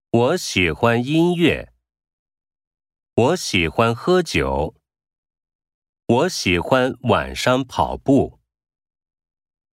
我喜欢音乐。我喜欢喝酒。我喜欢晚上跑步。